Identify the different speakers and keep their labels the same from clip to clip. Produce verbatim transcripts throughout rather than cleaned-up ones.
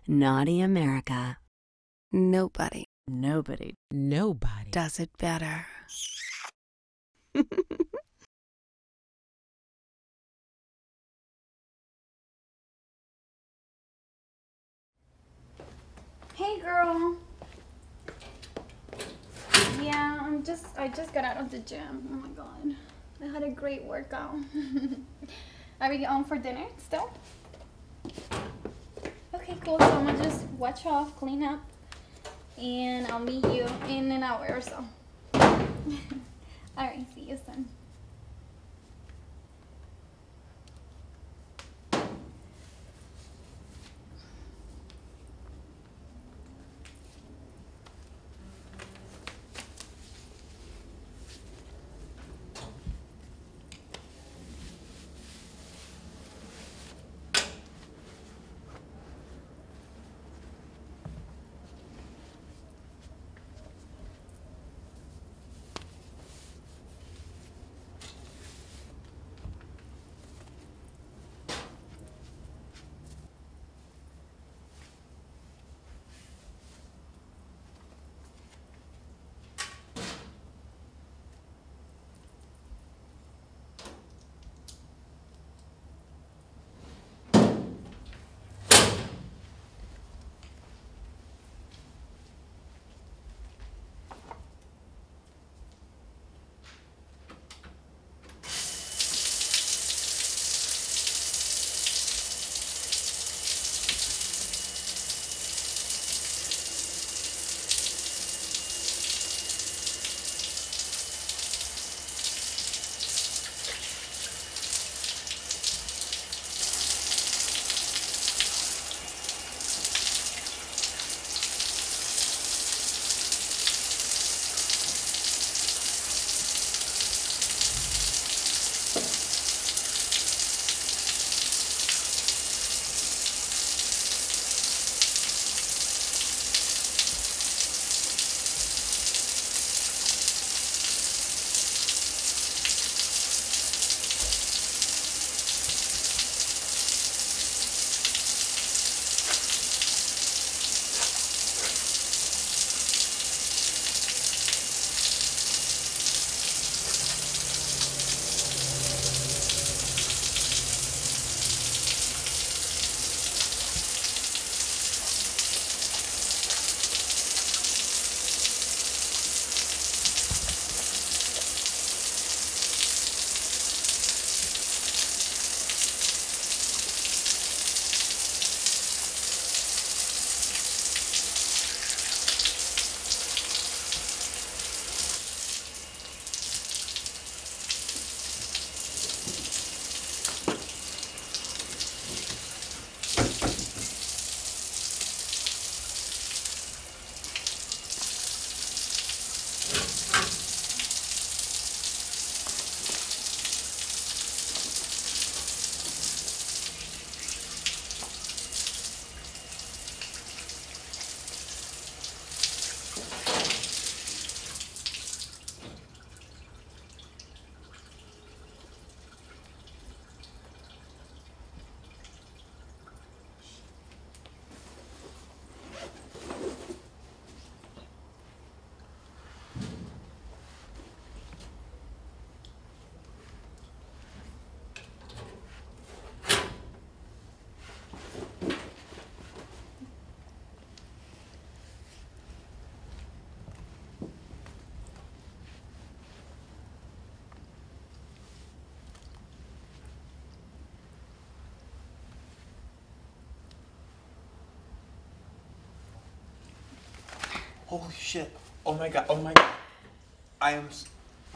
Speaker 1: Naughty America.
Speaker 2: Nobody.
Speaker 1: Nobody. Nobody.
Speaker 2: Does it better.
Speaker 3: Hey girl. Yeah, I'm just I just got out of the gym. Oh my god. I had a great workout. Are we on for dinner still? Okay, cool. So I'm gonna just wash off, clean up, and I'll meet you in an hour or so. Alright, see you soon.
Speaker 4: Holy shit. Oh my god. Oh my god. I am. s-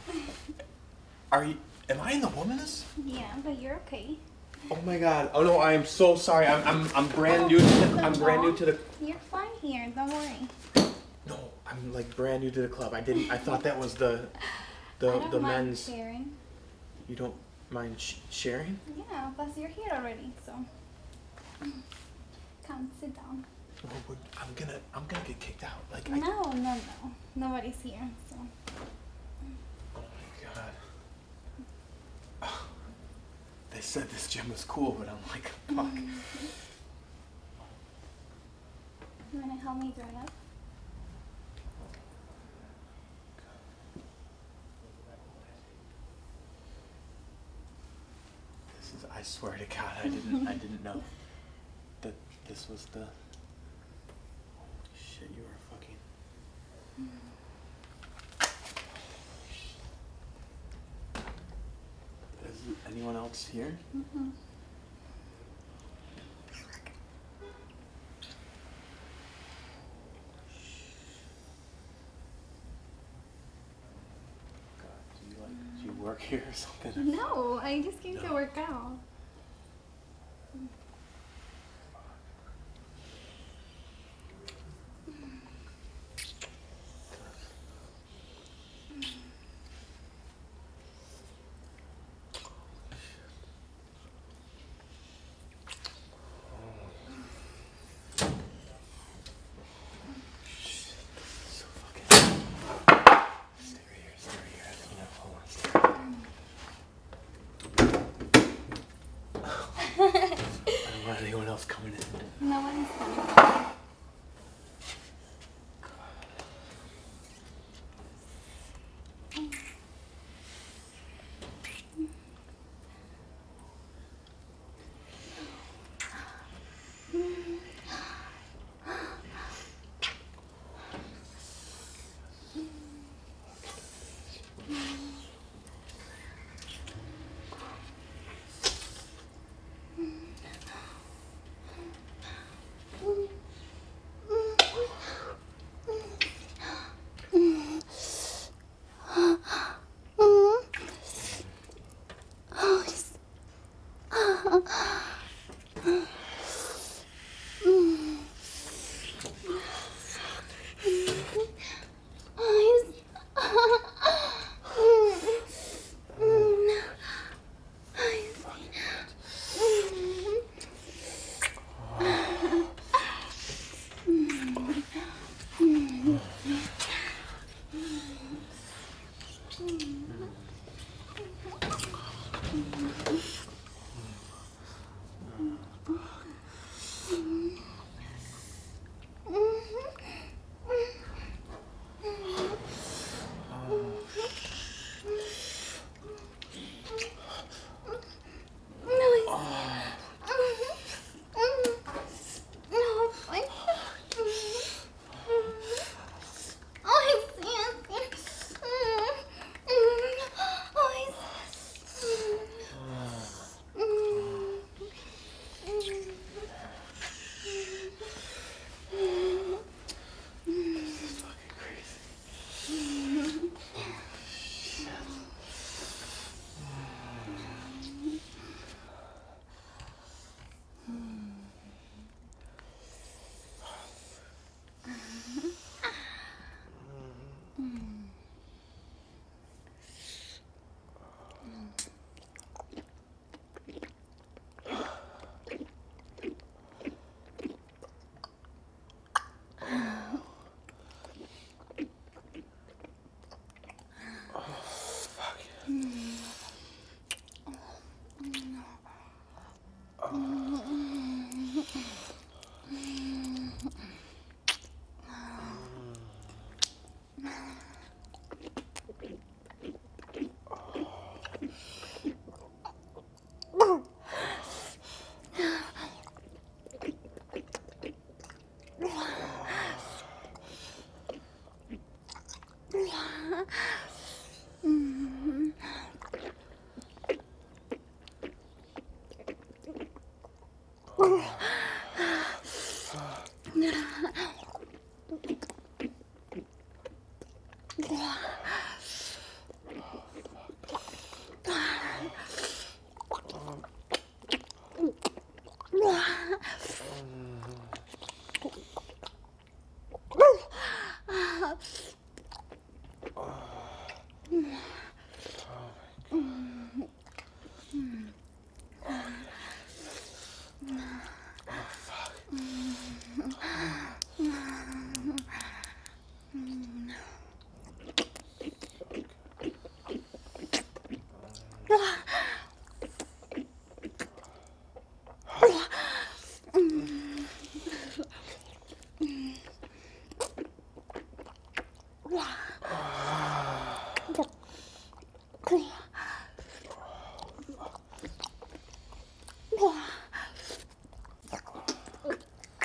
Speaker 4: Are you. Am I in the woman's?
Speaker 3: Yeah, but you're okay.
Speaker 4: Oh my god. Oh no, I am so sorry. I'm I'm, I'm brand new to the, I'm brand new to the.
Speaker 3: You're fine here, don't worry.
Speaker 4: No, I'm like brand new to the club. I didn't. I thought that was the
Speaker 3: I
Speaker 4: the
Speaker 3: don't
Speaker 4: the
Speaker 3: mind
Speaker 4: men's.
Speaker 3: sharing.
Speaker 4: You don't mind sh- sharing?
Speaker 3: Yeah, plus you're here already, so come sit down.
Speaker 4: Oh, we're- I'm gonna I'm gonna get kicked out. Like I.
Speaker 3: No, no, no. Nobody's here, so.
Speaker 4: Oh my god. Oh, they said this gym was cool, but I'm like, fuck.
Speaker 3: You wanna help me dry up?
Speaker 4: This is, I swear to God, I didn't, I didn't know that this was the, holy shit, you are fucking. Is anyone else here?
Speaker 3: Mm-hmm.
Speaker 4: God, do you like, do you work here or something?
Speaker 3: No, I just came
Speaker 4: No.
Speaker 3: to work out.
Speaker 4: So fucking. Stay right here, stay right here. I don't know. Hold on. Stay right here. I don't want anyone else coming in.
Speaker 3: No one's coming.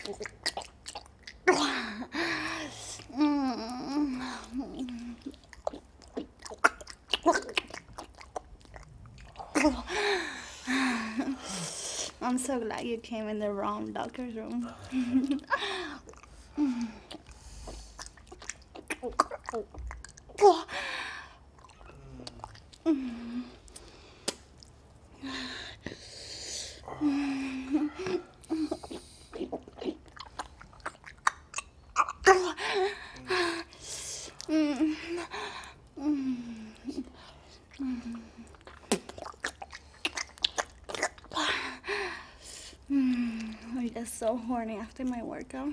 Speaker 5: I'm so glad you came in the wrong doctor's room. I'm just so horny after my workout.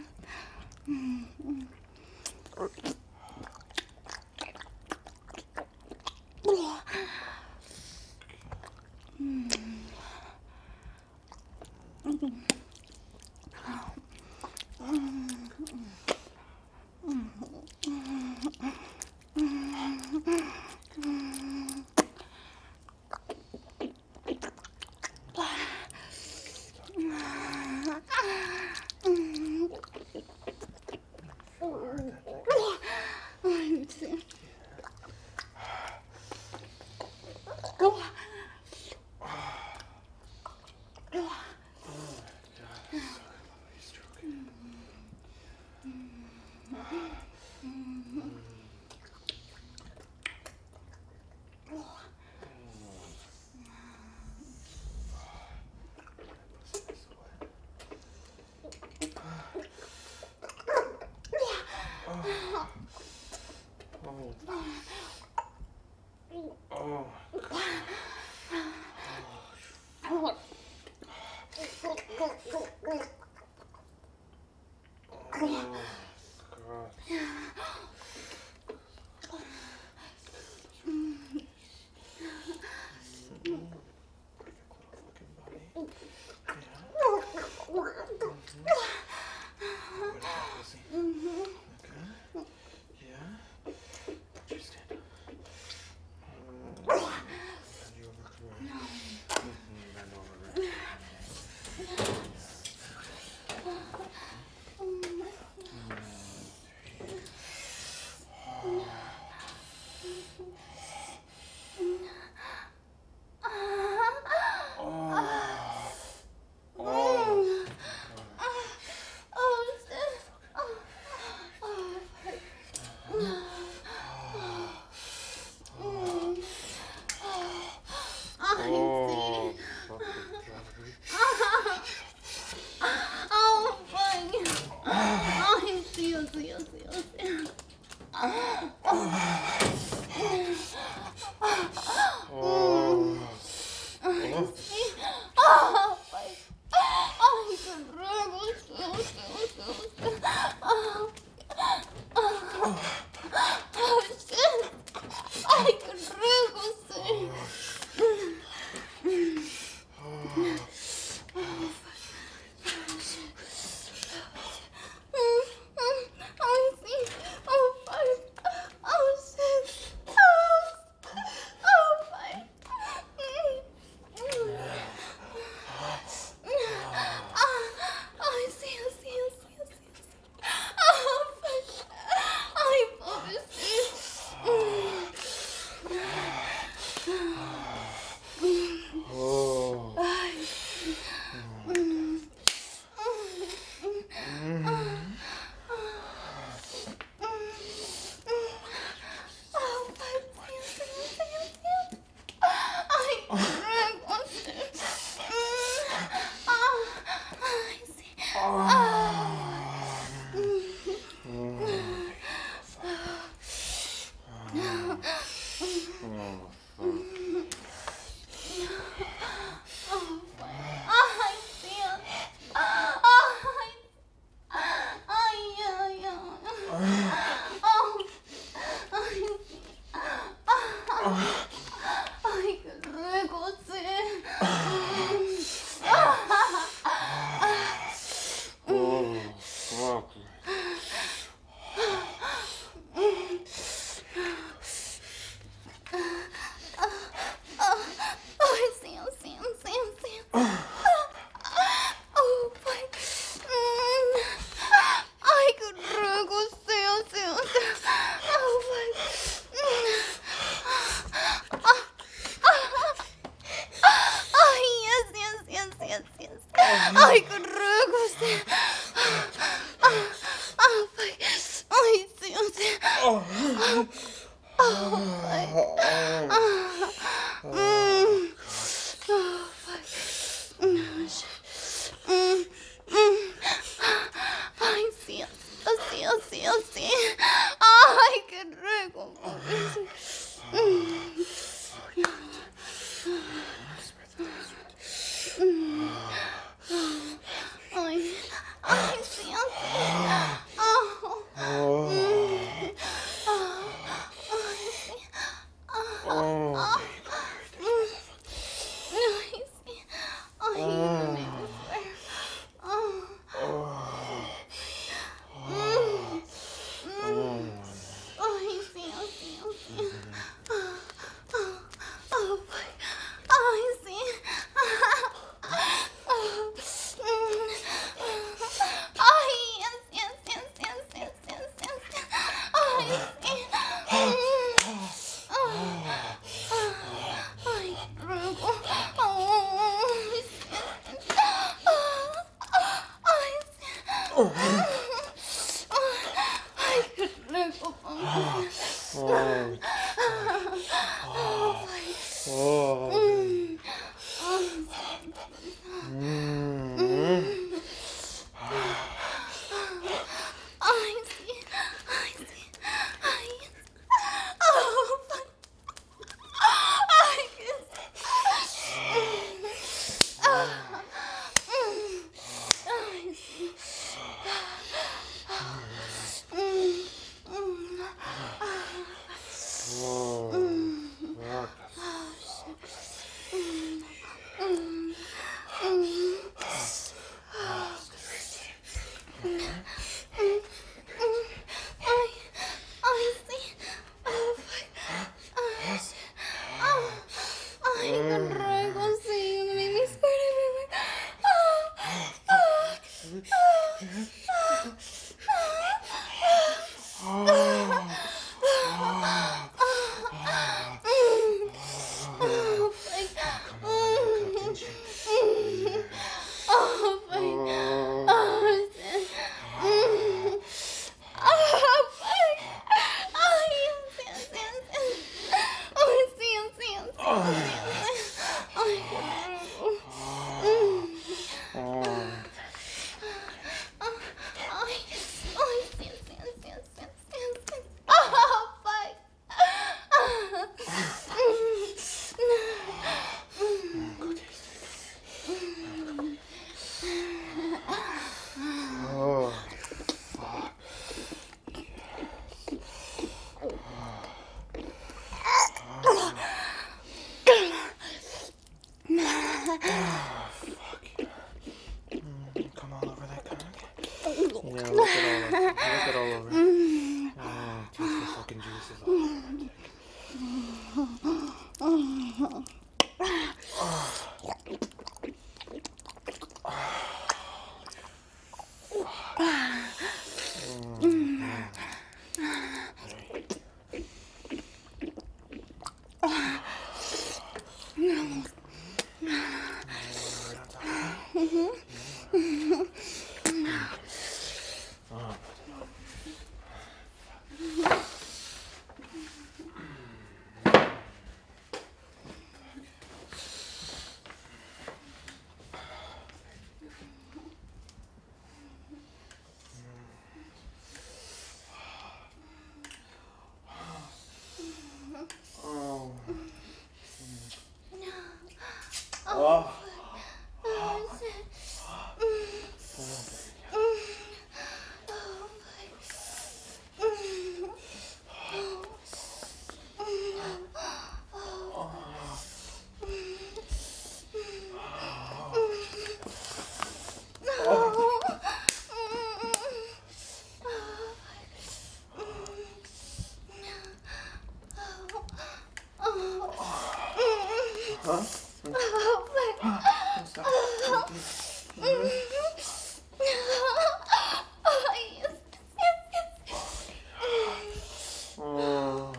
Speaker 4: Oh.
Speaker 5: así, así. Ay, qué rico. Ay, ay, sí, así. Oh.
Speaker 6: Oh.
Speaker 5: Ay, sí.
Speaker 6: Oh.
Speaker 5: Ay, sí. Ay, no me gusta. Oh. Ay, sí, así, así. Ay, sí. Ay, yes, yes, yes, yes, yes, yes, yes. Ay, sí. Ay, rico. Ay, sí. Ay, sí. Ay, qué rico.
Speaker 6: Oh. Oh. Mm.
Speaker 5: Ay, sí. Ay, sí. Ay, oh, ay, qué ay, sí.
Speaker 6: Oh.
Speaker 5: Ay, ay, sí. Ay, sí. Ay, qué rico, sí. Me me espera, bebé.
Speaker 6: Oh. Fuck. Come all over that cock. Yeah, look it all over. Look it all over. Oh, just the fucking juices all over that Oh. Oh. Huh? Oh.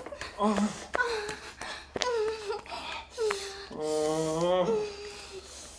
Speaker 6: Oh.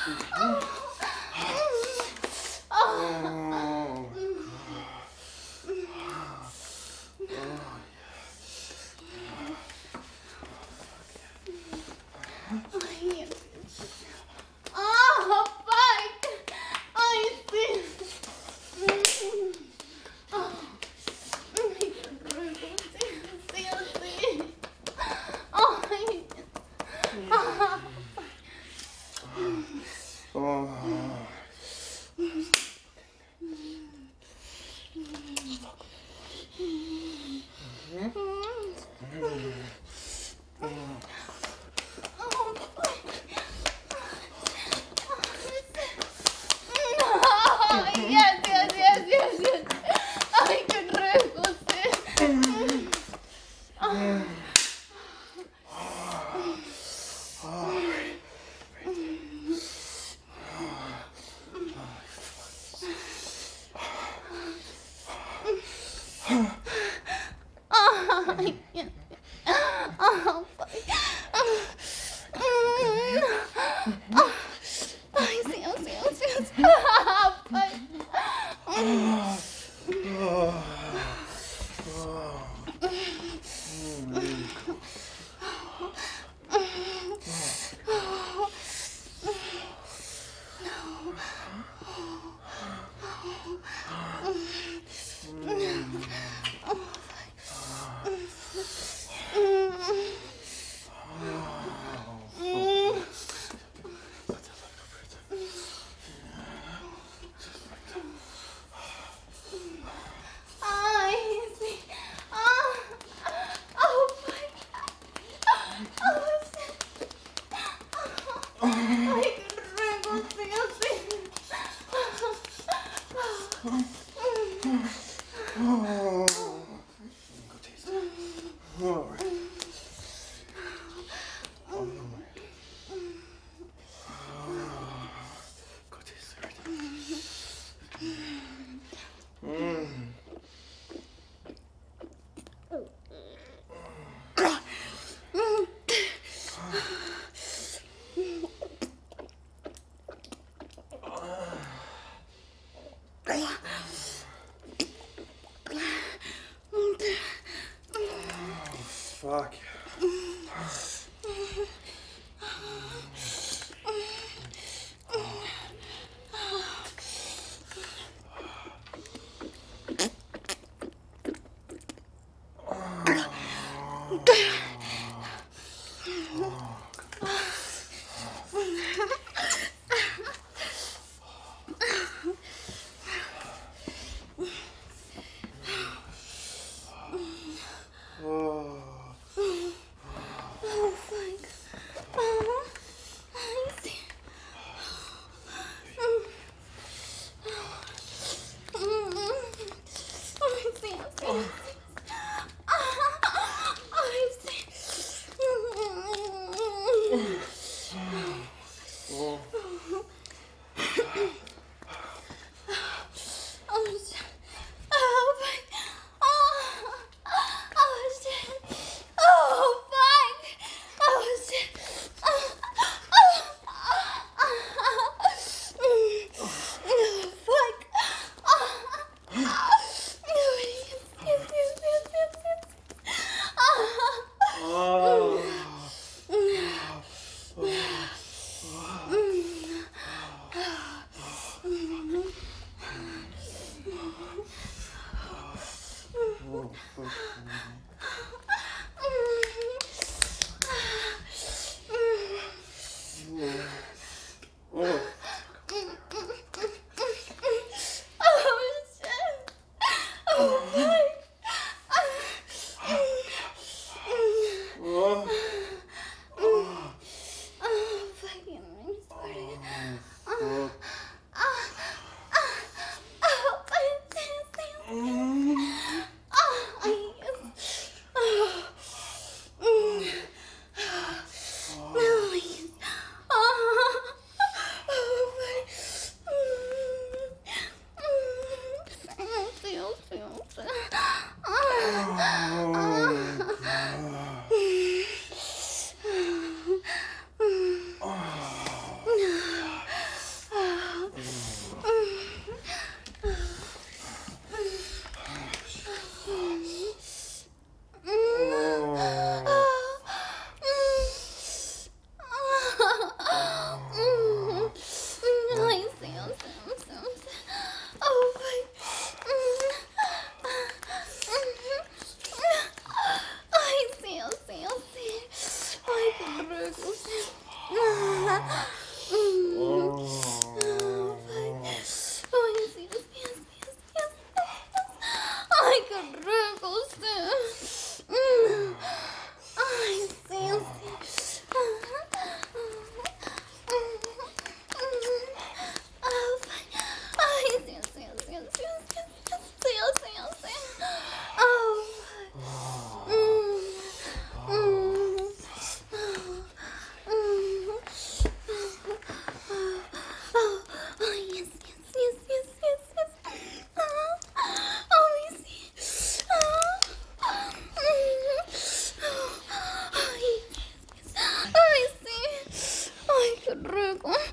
Speaker 6: Oh,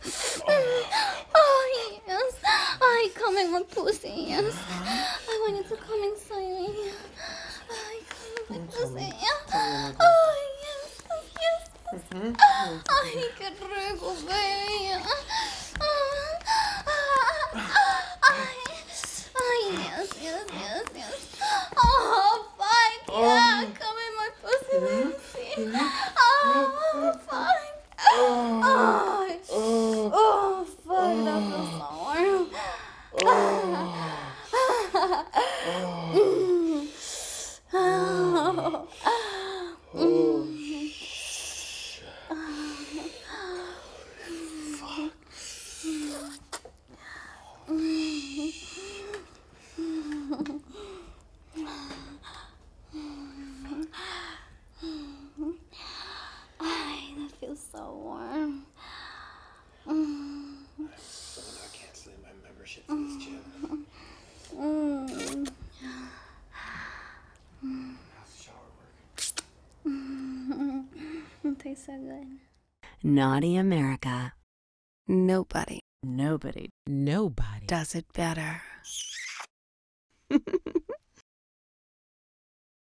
Speaker 5: Oh, yes. I come in my pussy, yes. I want you to come inside me. I come in my pussy, yeah. Oh, yes, yes, yes. Ay, qué rico, baby. Ay, ay, yes, yes, yes, yes. Oh, fuck, yeah. Come in my pussy, baby. Oh, fuck. Oh, oh, fuck, that feels so warm. Oh, Ay, that feels so warm.
Speaker 6: I'm not canceling my membership for this gym.
Speaker 5: Mm.
Speaker 6: How's the shower working?
Speaker 5: It tastes so good.
Speaker 1: Naughty America.
Speaker 2: Nobody
Speaker 1: Nobody. Nobody.
Speaker 2: does it better.